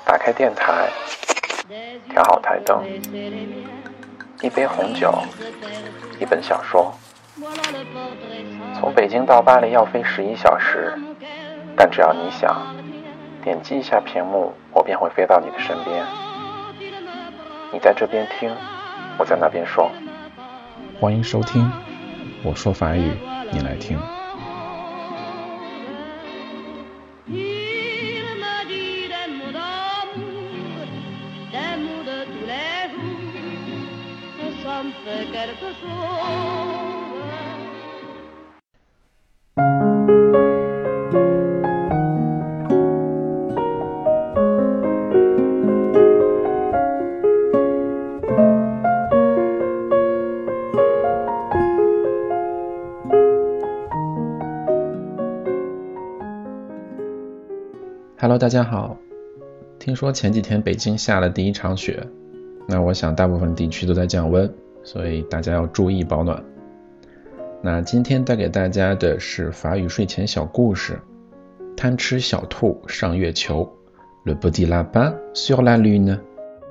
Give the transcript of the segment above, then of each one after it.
打开电台，调好台灯，一杯红酒，一本小说。从北京到巴黎要飞11小时，但只要你想，点击一下屏幕，我便会飞到你的身边。你在这边听，我在那边说。欢迎收听，我说法语，你来听。Hello， 大家好。听说前几天北京下了第一场雪，那我想大部分地区都在降温，所以大家要注意保暖。那今天带给大家的是法语睡前小故事，贪吃小兔上月球 Le petit lapin sur la lune.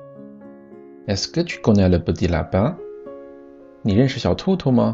Est-ce que tu connais le petit lapin? 你认识小兔兔吗？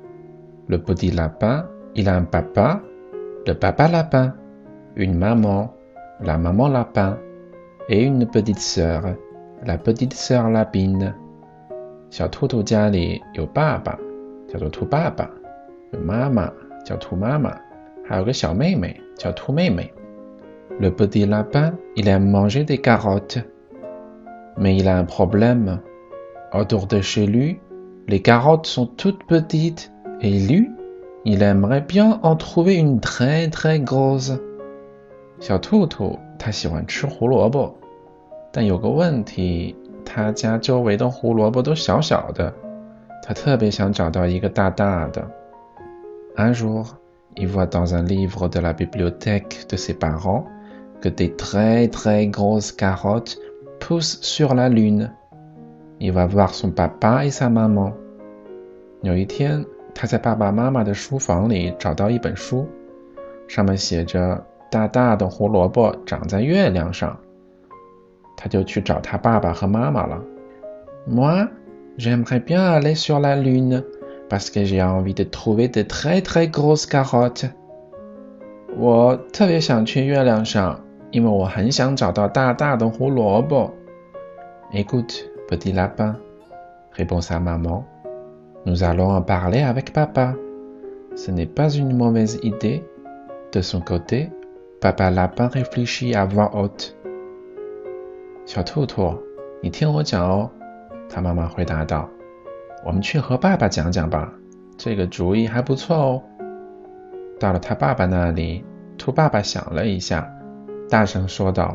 Le petit lapin, il a un papa, le papa lapin, une maman,La maman lapin et une petite sœur, la petite sœur lapine. 小兔兔家里有爸爸，叫做兔爸爸，有妈妈，叫兔妈妈，还有个小妹妹，叫兔妹妹。Le petit lapin, il aime manger des carottes. Mais il a un problème. Autour de chez lui, les carottes sont toutes petites et lui, il aimerait bien en trouver une très très grosse.小兔兔它喜欢吃胡萝卜，但有个问题，它家周围的胡萝卜都小小的，它特别想找到一个大大的。Un jour, il voit dans un livre de la bibliothèque de ses parents que des très très grosses carottes poussent sur la lune. Il va voir son papa et sa maman. 有一天，他在爸爸妈妈的书房里找到一本书，上面写着大大的胡萝卜长在月亮上，他就去找他爸爸和妈妈了。Moi, j'aimerais bien aller sur la lune, parce que j'ai envie de trouver de très très grosses carottes. 我特别想去月亮上，因为我很想找到大大的胡萝卜。Écoute, petit lapin, répond sa maman. Nous allons en parler avec papa. Ce n'est pas une mauvaise idée. De son côté,Papa lapin réfléchit à voix haute. 小兔兔，你听我讲哦，他妈妈回答道。我们去和爸爸讲讲吧，这个主意还不错哦。到了他爸爸那里，兔爸爸想了一下，大声说道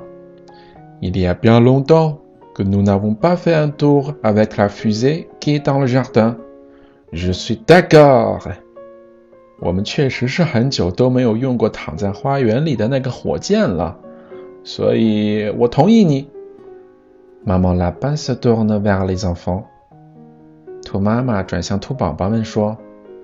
Il y a bien longtemps que nous n'avons pas fait un tour avec la fusée qui est dans le jardin. Je suis d'accord.我们确实是很久都没有用过躺在花园里的那个火箭了，所以我同意你。Maman lapin se tourne vers les enfants. 兔妈妈转向兔宝宝们说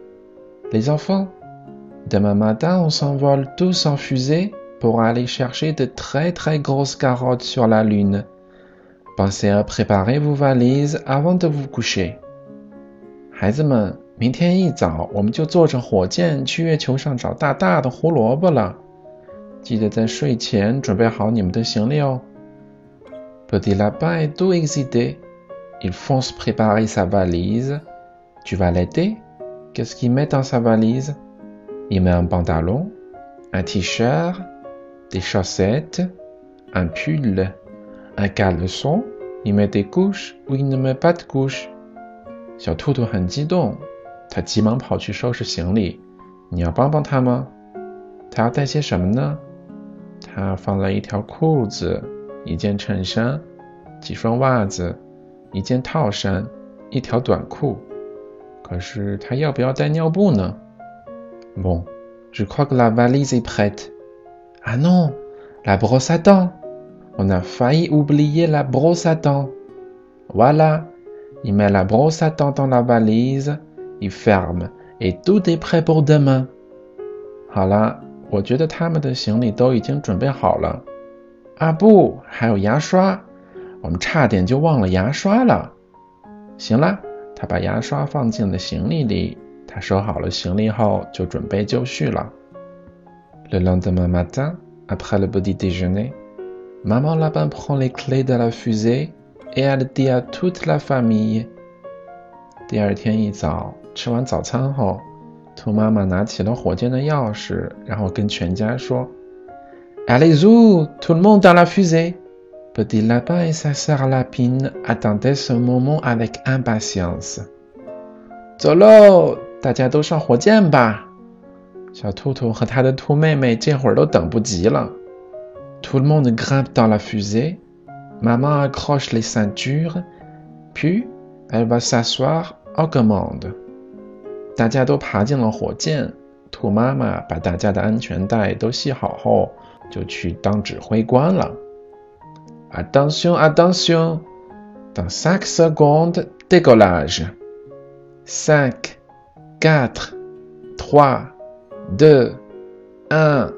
Les enfants, demain matin on s'envole tous en fusée pour aller chercher de très très grosses carottes sur la lune. Pensez à préparer vos valises avant de vous coucher. 孩子们，明天一早我们就坐着火箭去月球上找大大的胡萝卜了，记得在睡前准备好你们的行李哦。Petit lapin est tout excité. Il fonce préparer sa valise. Tu vas l'aider? Qu'est-ce qu'il met dans sa valise? Il met un pantalon, un t-shirt, des chaussettes, un pull, un caleçon. Il met des couches ou il ne met pas de couches. 小兔兔很激动，他急忙跑去收拾行李。你要帮帮他吗？他要带些什么呢？他放了一条裤子，一件衬衫，几双袜子，一件套衫，一条短裤。可是他要不要带尿布呢？ Bon, je crois que la valise est prête. Ah non, la brosse à dents. On a failli oublier la brosse à dents. Voilà.Il met la brosse à dents dans la valise, il ferme, et tout est prêt pour demain. 好啦，我觉得他们的行李都已经准备好了。 啊不，还有牙刷，我们差点就忘了牙刷了。行了，他把牙刷放进了行李里，他收好了行李后就准备就绪了。Le lendemain matin, après le petit déjeuner, Maman Lapin prend les clés de la fusée et elle dit à toute la famille. 第二天一早，吃完早餐后，兔妈妈拿起了火箭的钥匙，然后跟全家说 Allez-y, tout le monde dans la fusée. Petit Lapin et sa sœur Lapine attendaient ce moment avec impatience. 走喽，大家都上火箭吧。小兔兔和他的兔妹妹这会儿都等不及了。Tout le monde grimpe dans la fusée. Maman accroche les ceintures, puis elle va s'asseoir aux commandes. 大家都爬进了火箭，兔妈妈把大家的安全带都系好后，就去当指挥官了。Attention, attention! Dans 5 secondes, décollage. 5, 4, 3, 2, 1.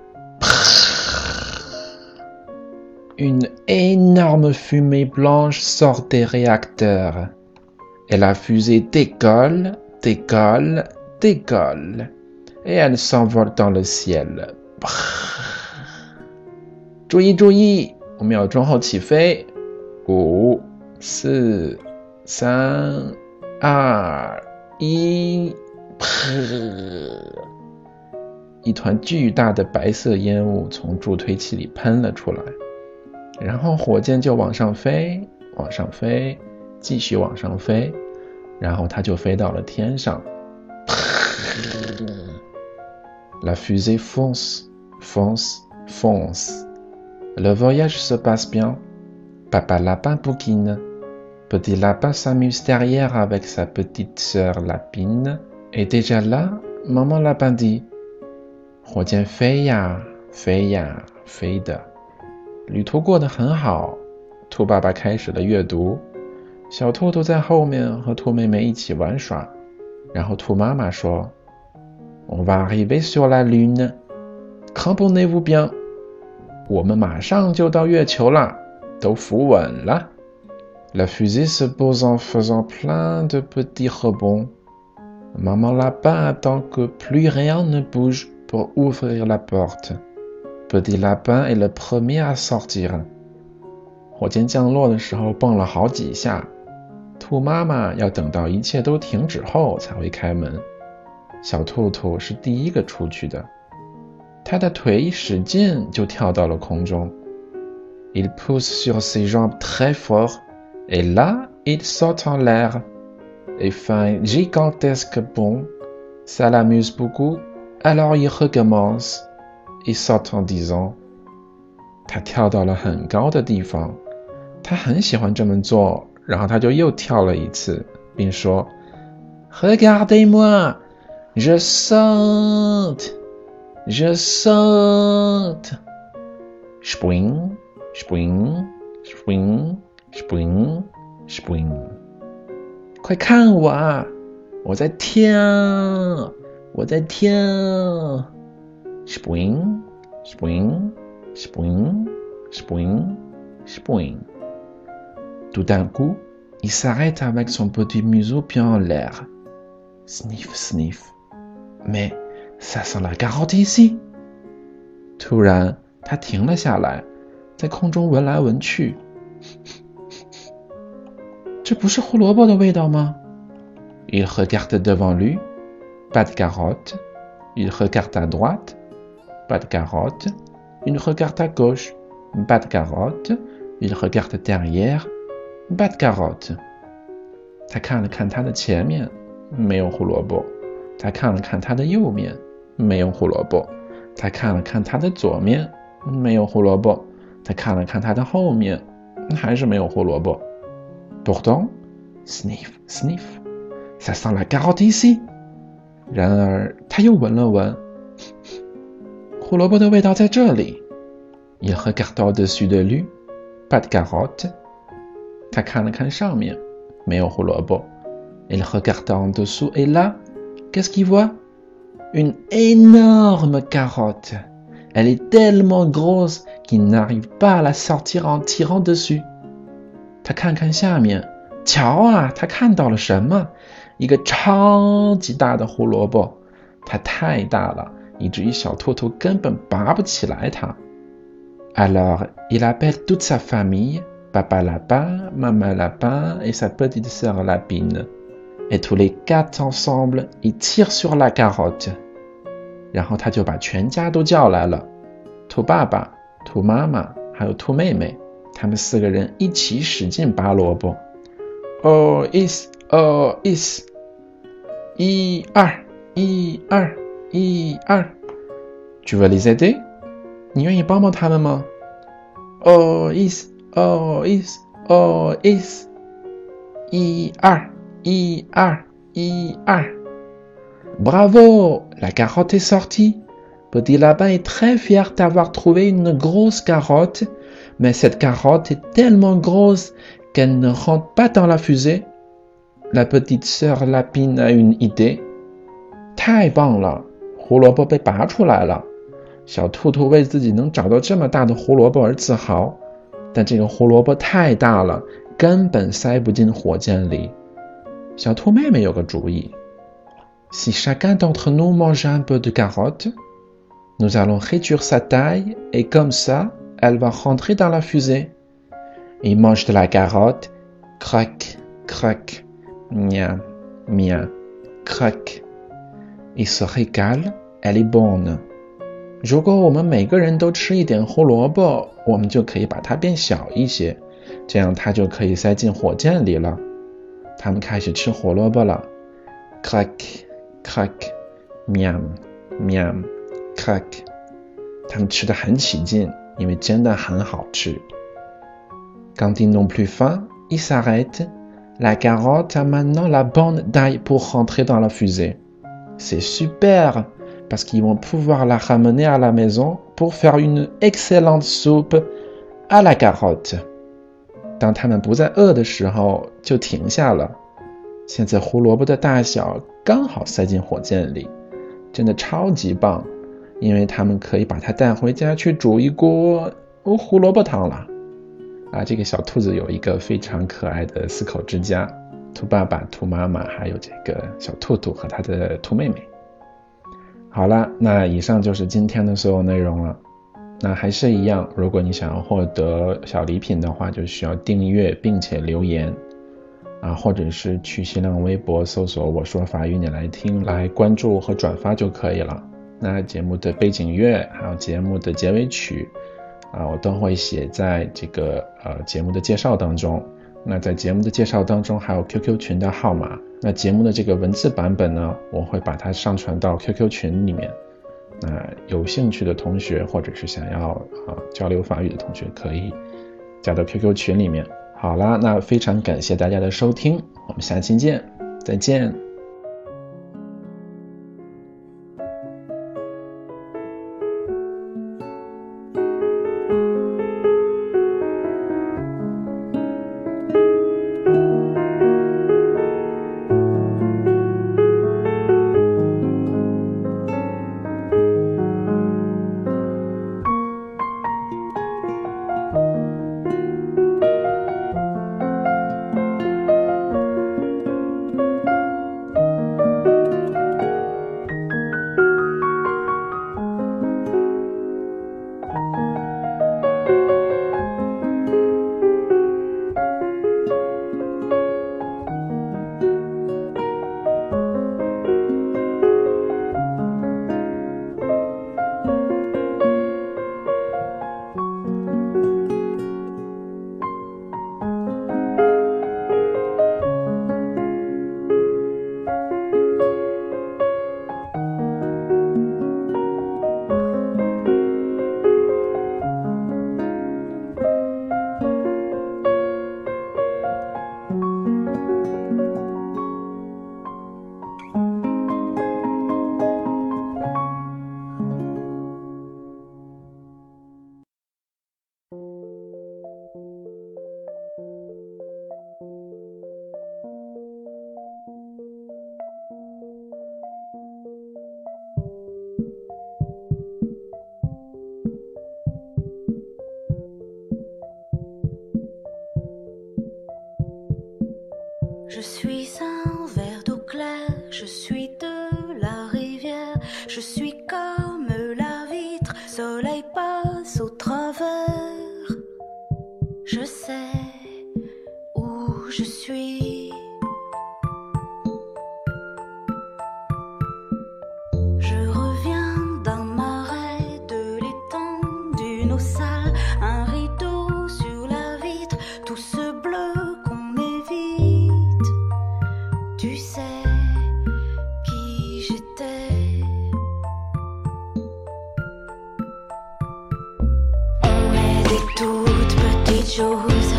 Une énorme fumée blanche sort des réacteurs. Et la fusée décolle, décolle, décolle. Et elle s'envole dans le ciel. 注意注意，5秒钟后起飞。5、4、3、2、1。一团巨大的白色烟雾从助推器里喷了出来，然后火箭就往上飞，往上飞，继续往上飞，然后它就飞到了天上。La fusée fonce, fonce, fonce. Le voyage se passe bien. Papa Lapin bouquine. Petit Lapin s'amuse derrière avec sa petite sœur Lapine. Et déjà là, Maman Lapin dit, 火箭飞呀，飞呀，飞的。旅途过得很好，兔爸爸开始了阅读。小兔兔在后面和兔妹妹一起玩耍。然后兔妈妈说 On va arriver sur la lune. Cramponnez-vous bien. 我们马上就到月球了，都扶稳了。La fusée se pose en faisant plein de petits rebonds. Maman Lapin attend que plus rien ne bouge pour ouvrir la porte. Petit Lapin est le premier à sortir. 火箭降落的时候蹦了好几下，兔妈妈要等到一切都停止后才会开门。小兔兔是第一个出去的，他的腿一使劲就跳到了空中。Il pousse sur ses jambes très fort, et là, il saute en l'air, et fait un gigantesque bond. Ça l'amuse beaucoup, alors il recommence, et saute en disant. 他跳到了很高的地方，他很喜欢这么做，然后他就又跳了一次，并说 Regardez-moi, je saute, je saute. Spring, spring, spring, spring, spring. 快看我啊，我在跳，我在跳。Spring, spring, spring, spring, spring. Tout d'un coup, il s'arrête avec son petit museau bien en l'air. Sniff, sniff. Mais ça sent la carotte ici. 突然，他停了下来，在空中闻来闻去。这不是胡萝卜的味道吗？ Il regarde devant lui. Pas de carotte. Il regarde à droite. Pas de carotte. Il regarde à gauche. Pas de carotte. Il regarde derrière. Pas de carotte. 他看了看他的前面，没有胡萝卜。他看了看他的右面，没有胡萝卜。他看了看他的左面，没有胡萝卜。他看了看他的后面，还是没有胡萝卜。Pourtant, sniff, sniff. Ça sent la carotte ici. 然而，他又闻了闻，胡萝卜的味道在这里。Il regarde au-dessus de lui. Pas de carotte. 他看了看上面，没有胡萝卜。Il regarde en dessous et là, qu'est-ce qu'il voit? Une énorme carotte. Elle est tellement grosse qu'il n'arrive pas à la sortir en tirant dessus. 他看看下面，瞧啊，他看到了什么？一个超级大的胡萝卜，它太大了，以至于小兔兔根本拔不起来它。Alors, il appelle toute sa famille, papa lapin, maman lapin et sa petite sœur lapine. Et tous les 4 ensemble, ils tirent sur la carotte. 然后他就把全家都叫来了，兔爸爸、兔妈妈还有兔妹妹，他们4个人一起使劲拔萝卜。Oh is, oh is, 1 2 1 2 1 2 Tu veux les aider? 你愿意帮帮他们吗？ Oh is, oh is, oh is, 1 2 1 2 1 2 Bravo, la carotte est sortie. Petit lapin est très fier d'avoir trouvé une grosse carotte, mais cette carotte est tellement grosse qu'elle ne rentre pas dans la fusée. La petite sœur lapine a une idée. 太棒了，胡萝卜被拔出来了。小兔兔为自己能找到这么大的胡萝卜而自豪，但这个胡萝卜太大了，根本塞不进火箭里。小兔妹妹有个主意。Si chacun d'entre nous mange un peu de carotte, nous allons réduire sa taille et comme ça, elle va rentrer dans la fusée. Il mange de la carotte, croc, croc, miam, miam, croc. Il se régale, elle est bonne. 如果我们每个人都吃一点胡萝卜，我们就可以把它变小一些，这样它就可以塞进火箭里了。他们开始吃胡萝卜了 ，croc, croc, miam, miam, croc。他们吃得很起劲，因为真的很好吃。Quand ils n'ont plus faim, ils s'arrêtent. La carotte a maintenant la bonne taille pour rentrer dans la fusée. C'est super, parce qu'ils vont pouvoir la ramener à la maison pour faire une excellente soupe à la carotte. 当他们不再饿的时候，就停下了。现在胡萝卜的大小刚好塞进火箭里，真的超级棒，因为他们可以把它带回家去煮一锅胡萝卜汤了。这个小兔子有一个非常可爱的4口之家，兔爸爸、兔妈妈还有这个小兔兔和他的兔妹妹。好了，那以上就是今天的所有内容了。那还是一样，如果你想要获得小礼品的话，就需要订阅并且留言或者是去新浪微博搜索我说法语你来听，来关注和转发就可以了。那节目的背景乐还有节目的结尾曲我都会写在这个节目的介绍当中。那在节目的介绍当中还有 QQ 群的号码，那节目的这个文字版本呢，我会把它上传到 QQ 群里面。那有兴趣的同学或者是想要交流法语的同学可以加到 QQ 群里面。好啦，那非常感谢大家的收听，我们下期见，再见。 Je suis un verre d'eau claire, je suis de la rivière, je suis comme la vitre, soleil passe au travers. Je sais où je suis. Je reviens d'un marais, de l'étang, d'une eau sale, un rideau sur la vitre, tout ce bleu qu'on évite. Tu sais qui j'étais. On est des toutes petites choses,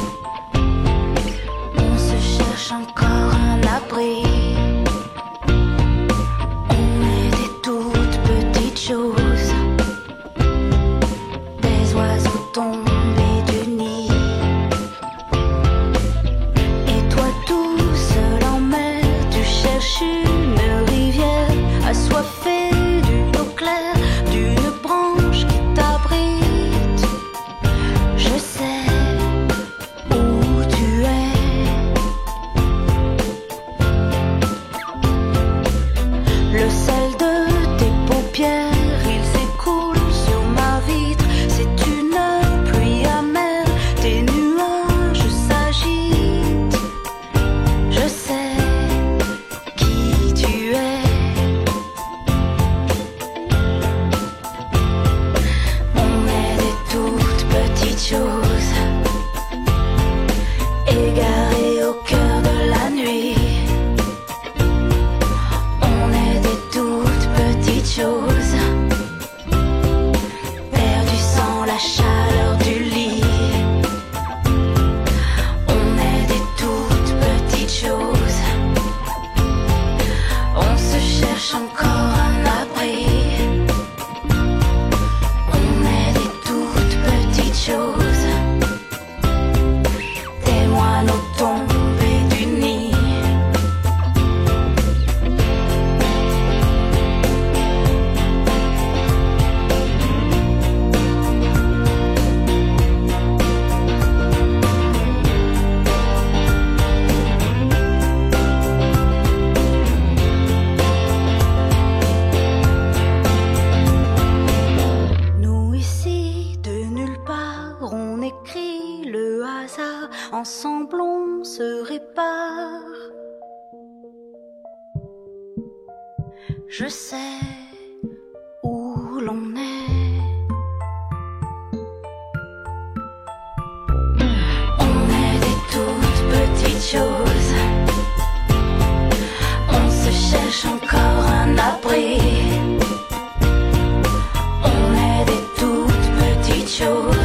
on se cherche encore un abri. On est des toutes petites choses, des oiseaux tombés du nid. Et toi tout seul en mer, tu cherches une rivière assoiffée d'une eau claire, d'une branche qui t'abrite. Je sais où tu es. Le sel de tes paupières, il s'écoule sur ma vitre. C'est une pluie amère, tes nuages s'agitent. Je sais qui tu es. On est des toutes petites choses, égarées au cœur de la nuit. On est des toutes petites choses, perdues sans la chaleur du lit. On est des toutes petites choses, on se cherche encore un abri. On est des toutes petites choses, des moineaux tombés du nid. Nous ici, de nulle part, on écrit le hasard, ensemble on se répare. Je sais où l'on est. On est des toutes petites choses, on se cherche encore un abri. On est des toutes petites choses,